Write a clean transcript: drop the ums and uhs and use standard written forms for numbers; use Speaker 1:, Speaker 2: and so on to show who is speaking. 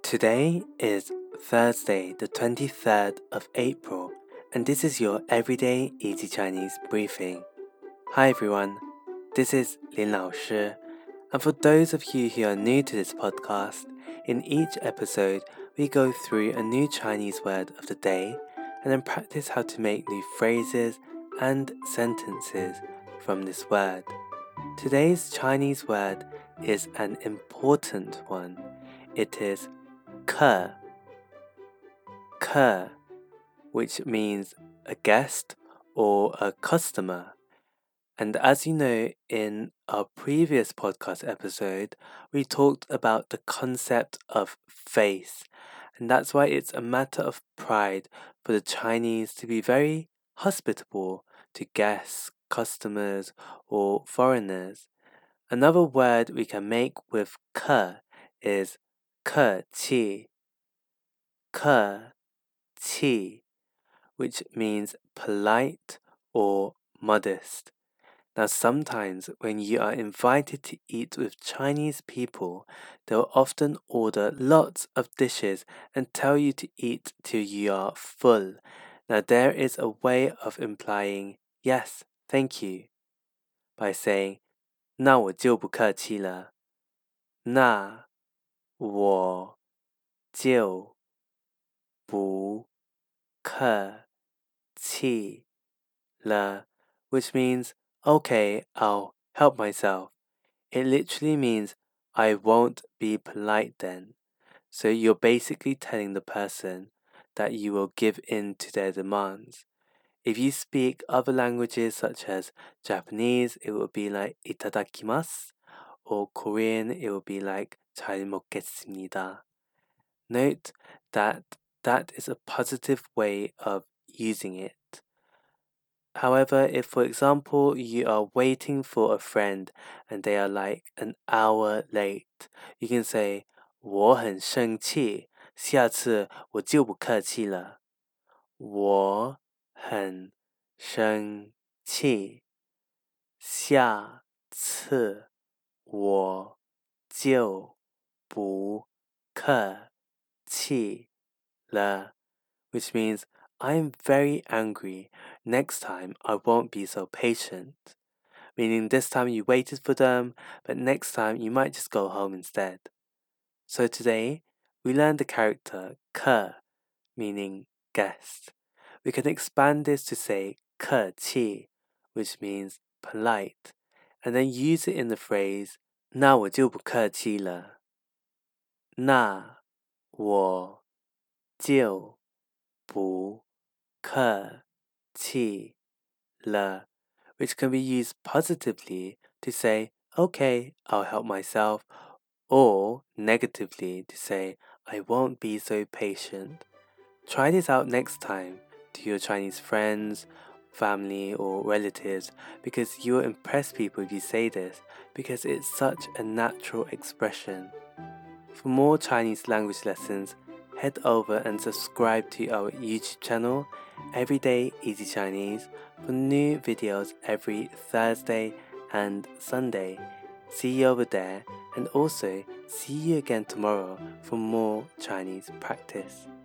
Speaker 1: Today is Thursday, the 23rd of April, and this is your Everyday Easy Chinese briefing. Hi everyone, this is Lin Lao Shi, and for those of you who are new to this podcast, in each episode we go through a new Chinese word of the day and then practice how to make new phrases and sentences from this word. Today's Chinese word is an important one. It is 客, which means a guest or a customer. And as you know, in our previous podcast episode, we talked about the concept of face. And that's why it's a matter of pride for the Chinese to be very hospitable to guests, customers, or foreigners. Another word we can make with 客 is 客气, 客气, which means polite or modest. Now, sometimes when you are invited to eat with Chinese people, they'll often order lots of dishes and tell you to eat till you are full. Now, there is a way of implying yes, thank you, by saying 那我就不客气了。那我就不客气了, which means, okay, I'll help myself. It literally means, I won't be polite then. So you're basically telling the person that you will give in to their demands. If you speak other languages such as Japanese, it will be like itadakimasu, or Korean, it will be like 잘 먹겠습니다. Note that that is a positive way of using it. However, if for example you are waiting for a friend and they are like an hour late, you can say 我很生气，下次我就不客气了。我很生气，下次我就不客气了, which means I'm very angry. Next time I won't be so patient. Meaning this time you waited for them, but next time you might just go home instead. So today we learned the character 客, meaning guest. We can expand this to say 客气, which means polite, and then use it in the phrase 那我就不客气了。那我就不客气了, which can be used positively to say, okay, I'll help myself, or negatively to say, I won't be so patient. Try this out next time to your Chinese friends, family, or relatives, because you will impress people if you say this, because it's such a natural expression. For more Chinese language lessons, head over and subscribe to our YouTube channel, Everyday Easy Chinese, for new videos every Thursday and Sunday. See you over there, and also see you again tomorrow for more Chinese practice.